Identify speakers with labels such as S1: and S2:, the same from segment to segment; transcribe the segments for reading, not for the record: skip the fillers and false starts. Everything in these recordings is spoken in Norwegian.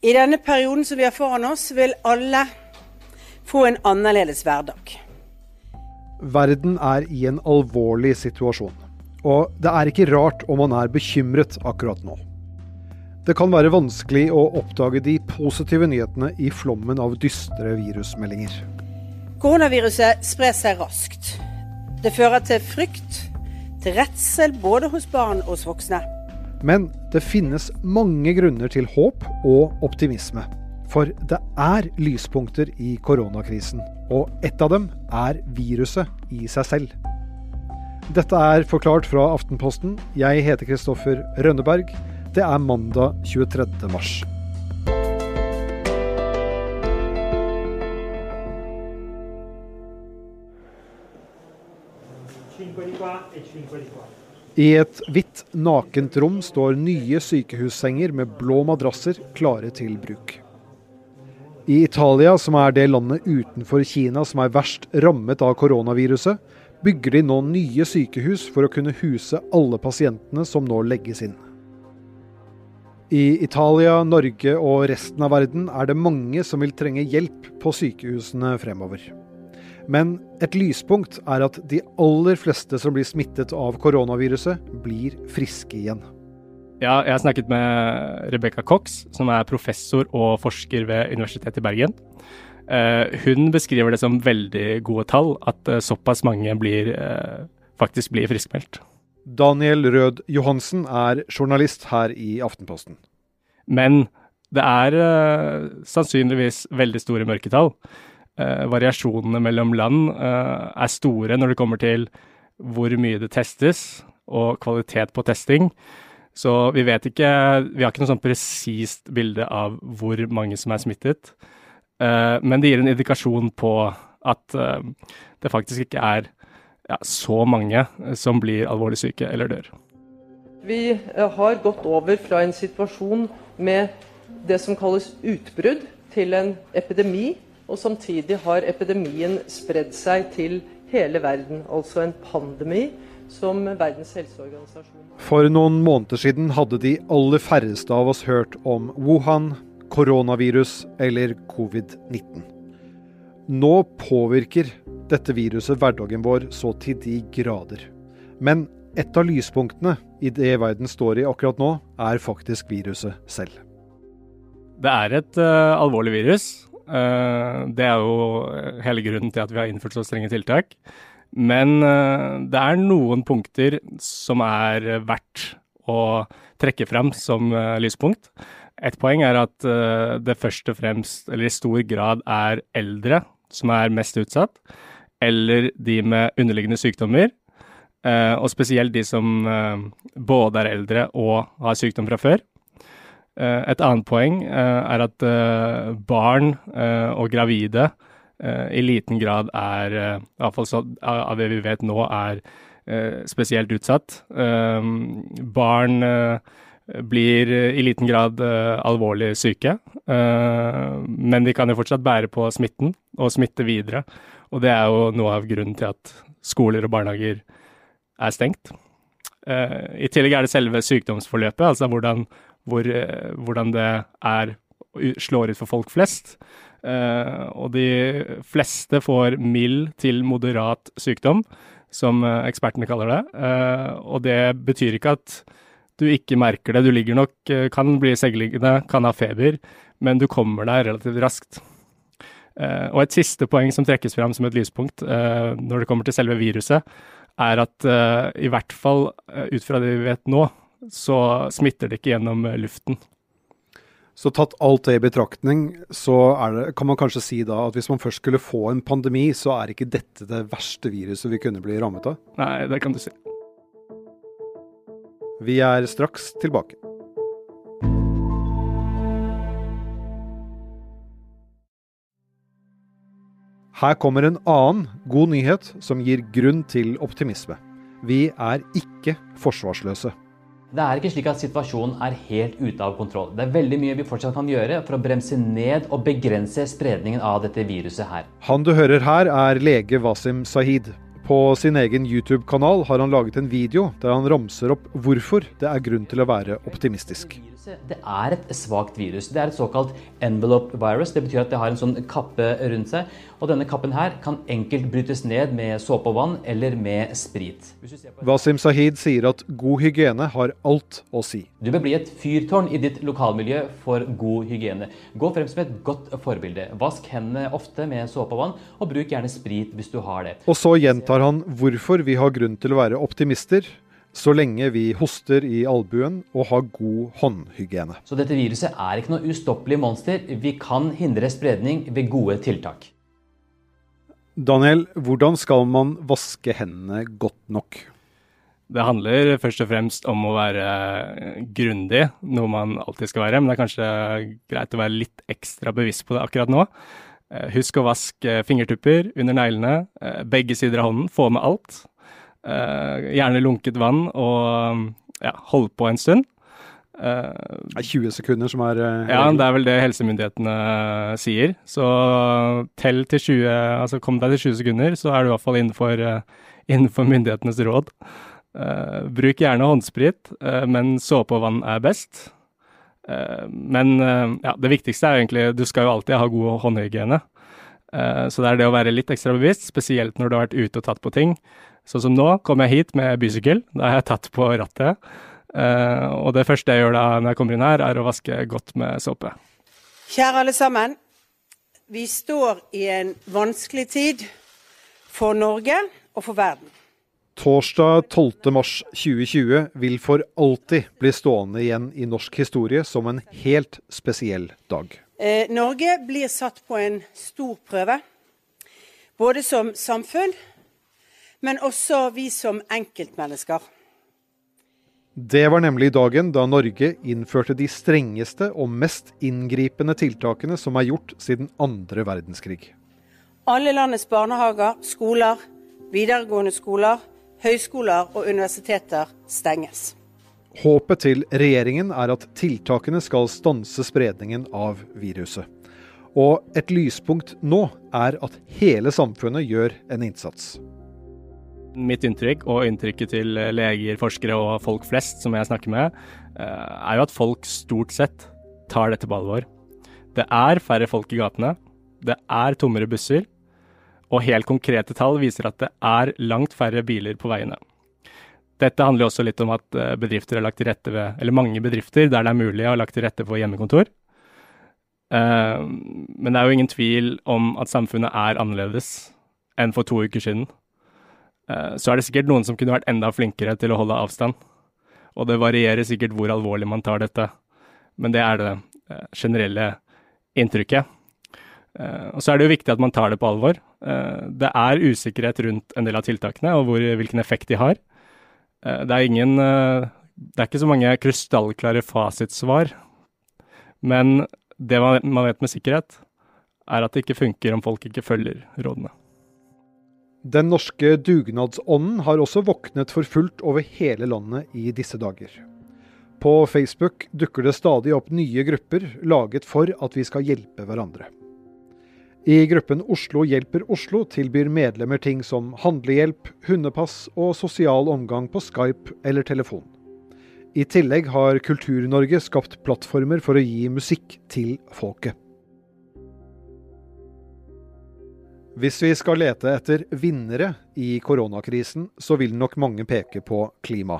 S1: I denne perioden som vi har foran oss, vil alle få en annerledes hverdag.
S2: Verden er i en alvorlig situasjon, og det er ikke rart om man er bekymret akkurat nå. Det kan være vanskelig å oppdage de positive nyhetene i flommen av dystre virusmeldinger.
S1: Koronaviruset sprer seg raskt. Det fører til frykt, til redsel både hos barn og hos voksne.
S2: Men det finnes mange grunner til håp og optimisme. For det er lyspunkter i koronakrisen, og ett av dem er viruset i seg selv. Dette er Forklart fra Aftenposten. Jeg heter Kristoffer Rønneberg. Det er mandag 23. mars. I et hvitt nakent rom står nye sykehussenger med blå madrasser klare til bruk. I Italia, som er det landet utenfor Kina som er verst rammet av koronaviruset, bygger de nå nye sykehus for å kunne huse alle pasientene som nå legges inn. I Italia, Norge og resten av verden er det mange som vil trenge hjelp på sykehusene fremover. Men et lyspunkt er at de aller fleste som blir smittet av koronaviruset, blir friske igjen.
S3: Ja, jeg har snakket med Rebecca Cox, som er professor og forsker ved Universitetet i Bergen. Hun beskriver det som veldig gode tall, at såpass mange faktisk blir friskmeldt.
S2: Daniel Rød Johansen er journalist her i Aftenposten.
S3: Men det er sannsynligvis veldig store mørketall. Variasjonene mellom land er store når det kommer til hvor mye det testes og kvalitet på testing. Så vi har ikke noe sånn presist bilde av hvor mange som er smittet. Men det gir en indikasjon på at det faktisk ikke er så mange som blir alvorlig syke eller dør.
S4: Vi har gått over fra en situasjon med det som kalles utbrudd til en epidemi, og samtidig har epidemien spredd seg til hele verden, altså en pandemi som Verdens helseorganisasjon.
S2: For noen måneder siden hadde de aller færreste av oss hørt om Wuhan, koronavirus eller covid-19. Nå påvirker dette viruset hverdagen vår så til de grader. Men et av lyspunktene i det verden står i akkurat nå, er faktisk viruset selv.
S3: Det er et alvorlig virus. Det er jo hele grunnen til at vi har innført så strenge tiltak. Men det er noen punkter som er verdt å trekke frem som lyspunkt. Et poeng er at det først og fremst, eller i stor grad, er eldre som er mest utsatt, eller de med underliggende sykdommer, og spesielt de som både er eldre og har sykdom fra før. Et annet poeng er at barn og gravide i liten grad er, i hvert fall så, av det vi vet nå, er spesielt utsatt. Barn blir i liten grad alvorlig syke, men de kan jo fortsatt bære på smitten og smitte videre. Og det er jo noe av grunnen til at skoler og barnehager er stengt. I tillegg er det selve sykdomsforløpet, altså hvordan det slår ut for folk flest. Og de fleste får mild til moderat sykdom, som ekspertene kaller det. Og det betyr ikke at du ikke merker det. Du ligger nok, kan bli seggliggende, kan ha feber, men du kommer deg relativt raskt. Og et siste poeng som trekkes frem som et lyspunkt når det kommer til selve viruset, er at i hvert fall ut fra det vi vet nå, så smitter det ikke gjennom luften.
S2: Så tatt alt det i betraktning, så kan man kanskje si da at hvis man først skulle få en pandemi, så er ikke dette det verste viruset vi kunne bli rammet av?
S3: Nei, det kan du si.
S2: Vi er straks tilbake. Her kommer en annen god nyhet som gir grunn til optimisme. Vi er ikke forsvarsløse.
S5: Det er ikke slik at situasjonen er helt ute av kontroll. Det er veldig mye vi fortsatt kan gjøre for å bremse ned og begrense spredningen av dette viruset her.
S2: Han du hører her er lege Wasim Sahid. På sin egen YouTube-kanal har han laget en video der han ramser opp hvorfor det er grunn til å være optimistisk.
S5: Det er et svagt virus. Det er et såkalt envelope virus. Det betyr at det har en sånn kappe rundt seg. Og denne kappen her kan enkelt brytes ned med såpe og vann eller med sprit.
S2: Wasim Zahid sier at god hygiene har alt å si.
S5: Du bør bli et fyrtårn i ditt lokalmiljø for god hygiene. Gå frem som et godt forbilde. Vask hendene ofte med såpe og vann, og bruk gjerne sprit hvis du har det.
S2: Og så gjentar han hvorfor vi har grunn til å være optimister, så lenge vi hoster i albuen og har god håndhygiene.
S5: Så dette viruset er ikke noe ustoppelig monster. Vi kan hindre spredning ved gode tiltak.
S2: Daniel, hvordan skal man vaske hendene godt nok?
S3: Det handler først og fremst om å være grundig, noe man alltid skal være, men det er kanskje greit å være litt ekstra bevisst på det akkurat nå. Husk å vaske fingertupper under neglene, begge sider av hånden, få med alt. Gjerne lunket vann og hold på en stund.
S2: 20 sekunder som er...
S3: Ja, det er vel det helsemyndighetene sier. Så tell til 20, altså kom deg til 20 sekunder, så er du i hvert fall innenfor myndighetenes råd. Bruk gjerne håndsprit, men såpe og vann er best. Men det viktigste er egentlig, du skal jo alltid ha god håndhygiene. Så det er det å være litt ekstra bevisst, spesielt når du har vært ute og tatt på ting. Sånn som nå kom jeg hit med bysykkel, da har jeg tatt på rattet. Og det første jeg gjør da når jeg kommer inn her, er å vaske godt med såpe.
S1: Kjære alle sammen, vi står i en vanskelig tid for Norge og for verden.
S2: Torsdag 12. mars 2020 vil for alltid bli stående igjen i norsk historie som en helt spesiell dag.
S1: Norge blir satt på en stor prøve, både som samfunn, men også vi som enkeltmennesker.
S2: Det var nemlig dagen da Norge innførte de strengeste og mest inngripende tiltakene som er gjort siden andre verdenskrig.
S1: Alle landets barnehager, skoler, videregående skoler, høyskoler og universiteter stenges.
S2: Håpet til regjeringen er at tiltakene skal stanse spredningen av viruset. Og et lyspunkt nå er at hele samfunnet gjør en innsats.
S3: Mitt inntrykk og inntrykket til leger, forskere og folk flest som jeg snakker med, er jo at folk stort sett tar dette på alvor. Det er færre folk i gatene, det er tommere busser, og helt konkrete tall viser at det er langt færre biler på veiene. Dette handler også litt om at bedrifter har lagt til rette ved, eller mange bedrifter der det er mulig å ha lagt til rette for hjemmekontor. Men det er jo ingen tvil om at samfunnet er annerledes enn for 2 uker siden. Så er det sikkert noen som kunne vært enda flinkere til å holde avstand. Og det varierer sikkert hvor alvorlig man tar dette. Men det er det generelle inntrykket. Og så er det jo viktig at man tar det på alvor. Det er usikkerhet rundt en del av tiltakene og hvilken effekt de har. Det er ikke så mange krystallklare fasitsvar. Men det man vet med sikkerhet, er at det ikke funker om folk ikke følger rådene.
S2: Den norske dugnadsånden har også våknet for fullt over hele landet i disse dager. På Facebook dukker det stadig opp nye grupper laget for at vi skal hjelpe hverandre. I gruppen Oslo hjelper Oslo tilbyr medlemmer ting som handlehjelp, hundepass og sosial omgang på Skype eller telefon. I tillegg har Kultur-Norge skapt plattformer for å gi musikk til folket. Hvis vi skal lete etter vinnere i koronakrisen, så vil nok mange peke på klima.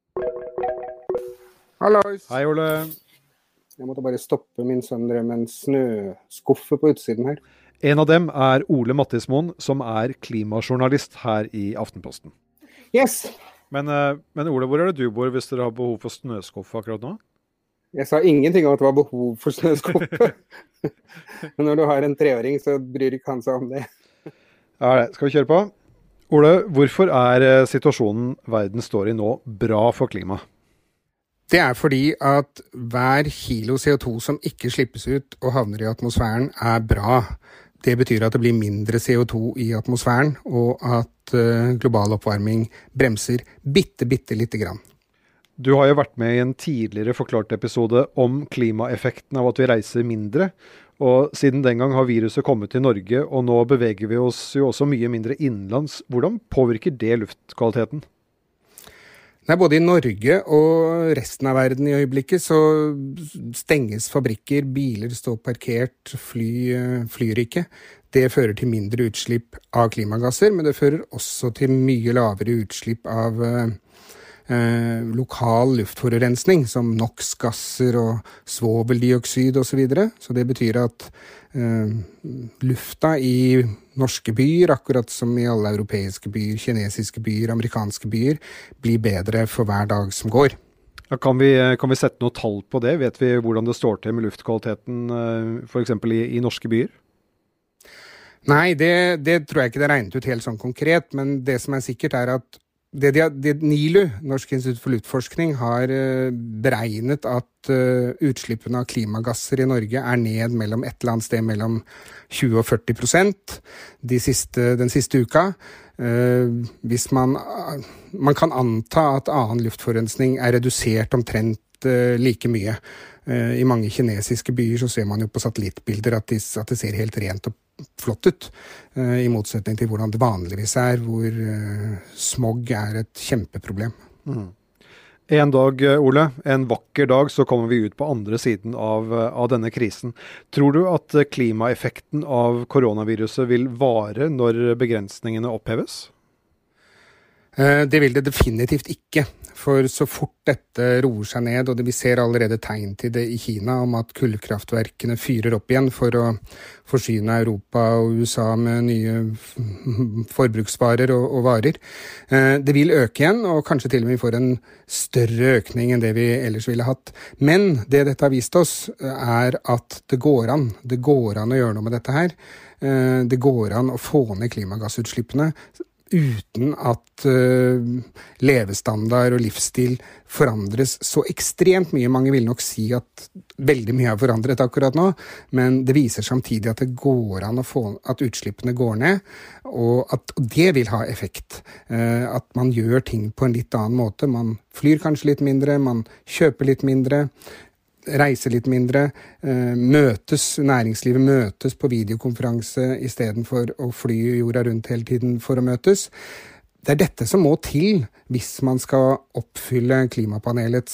S6: Hallois.
S2: Hei, Ole.
S6: Jeg måtte bare stoppe min sønn drev med en snøskuffe på utsiden her.
S2: En av dem er Ole Mattismoen, som er klimajournalist her i Aftenposten.
S6: Yes!
S2: Men Ole, hvor er det du bor hvis dere har behov for snøskuffe akkurat nå?
S6: Jeg sa ingenting om at det var behov for snøskuffe. Men når du har en 3-åring, så bryr ikke han seg om det.
S2: Ja, skal vi kjøre på? Ole, hvorfor er situasjonen verden står i nå bra for klimaet?
S6: Det er fordi at hver kilo CO2 som ikke slippes ut og havner i atmosfæren er bra. Det betyr at det blir mindre CO2 i atmosfæren, og at global oppvarming bremser bitte lite grann.
S2: Du har jo vært med i en tidligere forklart episode om klimaeffekten av at vi reiser mindre, og siden den gang har viruset kommet til Norge, og nå beveger vi oss jo også mye mindre innenlands. Hvordan påvirker det luftkvaliteten?
S6: Nei, både i Norge og resten av verden i øyeblikket så stenges fabrikker, biler står parkert, flyr ikke. Det fører til mindre utslipp av klimagasser, men det fører også til mye lavere utslipp av lokal luftforurensning, som NOx-gasser og svoveldioksid og så videre. Så det betyr at lufta i norske byer, akkurat som i alle europeiske byer, kinesiske byer, amerikanske byer, blir bedre for hver dag som går.
S2: Ja, kan vi sette noe tall på det? Vet vi hvordan det står til med luftkvaliteten for eksempel i norske byer?
S6: Nei, det tror jeg ikke det er regnet ut helt sånn konkret, men det som er sikkert er at det NILU, Norsk institutt for luftforskning, har beregnet at utslippene av klimagasser i Norge er ned mellom et eller annet sted mellom 20 og 40% den siste uka. Hvis man kan anta at annen luftforurensning er redusert omtrent like mye. I mange kinesiske byer så ser man jo på satellittbilder at det ser helt rent og flott ut, i motsetning til hvordan det vanligvis er, hvor smog er et kjempeproblem.
S2: En dag, Ole, en vakker dag, så kommer vi ut på andre siden av denne krisen. Tror du at klimaeffekten av koronaviruset vil vare når begrensningene oppheves?
S6: Det vil det definitivt ikke, for så fort dette roer seg ned, og vi ser allerede tegn til det i Kina om at kullkraftverkene fyrer opp igjen for å forsyne Europa og USA med nye forbruksvarer og varer. Det vil øke igjen, og kanskje til og med vi får en større økning enn det vi ellers ville hatt. Men det dette har vist oss er at det går an å gjøre noe med dette her. Det går an å få ned klimagassutslippene uten at levestandard og livsstil forandres så ekstremt mye. Mange vil nok si at veldig mye er forandret akkurat nå, men det viser samtidig at det går an å få at utslippene går ned, og at det vil ha effekt. At man gjør ting på en litt annen måte. Man flyr kanskje litt mindre, man kjøper litt mindre, reiser litt mindre, næringslivet møtes på videokonferanse i stedet for å fly jorda rundt hele tiden for å møtes. Det er dette som må til hvis man skal oppfylle klimapanelets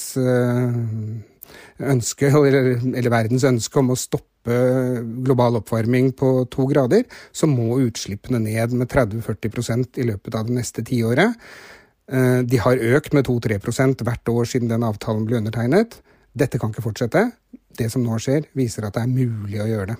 S6: ønske, eller verdens ønske om å stoppe global oppvarming på 2 grader, så må utslippene ned med 30-40% i løpet av det neste 10 året. De har økt med 2-3% hvert år siden den avtalen ble undertegnet. Dette kan ikke fortsette. Det som nå skjer, viser at det er mulig å gjøre det.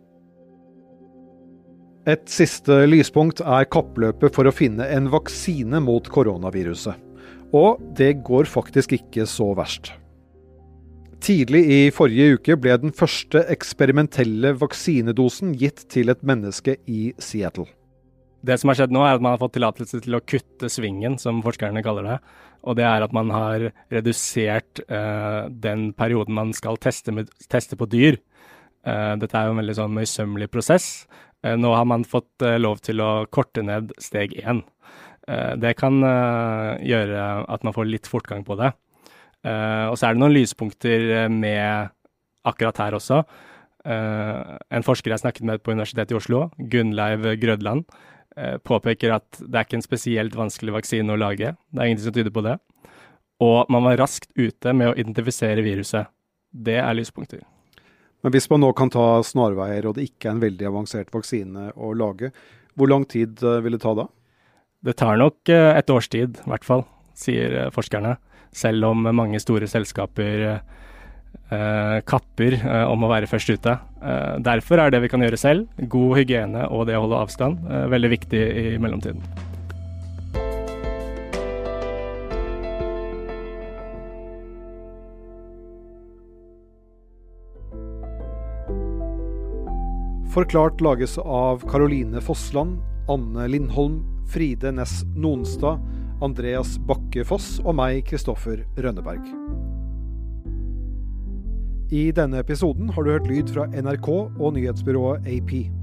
S2: Et siste lyspunkt er kappløpet for å finne en vaksine mot koronaviruset. Og det går faktisk ikke så verst. Tidlig i forrige uke ble den første eksperimentelle vaksinedosen gitt til et menneske i Seattle.
S3: Det som har skjedd nå er at man har fått tillatelse til å kutte svingen, som forskerne kaller det. Og det er at man har redusert den perioden man skal teste på dyr. Dette er jo en veldig sånn møysommelig prosess. Nå har man fått lov til å korte ned steg 1. Det kan gjøre at man får litt fortgang på det. Og så er det noen lyspunkter med akkurat her også. En forsker jeg snakket med på Universitetet i Oslo, Gunnleiv Grødland, påpeker at det er ikke en spesielt vanskelig vaksine å lage. Det er ingenting som tyder på det. Og man var raskt ute med å identifisere viruset. Det er lyspunkter.
S2: Men hvis man nå kan ta snarveier, og det ikke er en veldig avansert vaksine å lage, hvor lang tid vil det ta da?
S3: Det tar nok et års tid, i hvert fall, sier forskerne. Selv om mange store selskaper kapper om å være først ute. Derfor er det vi kan gjøre selv, god hygiene og det å holde avstand, veldig viktig i mellomtiden.
S2: Forklart lages av Caroline Fossland, Anne Lindholm, Fride Næss Nonstad, Andreas Bakke Foss og meg, Kristoffer Rønneberg. I denne episoden har du hørt lyd fra NRK og nyhetsbyrået AP.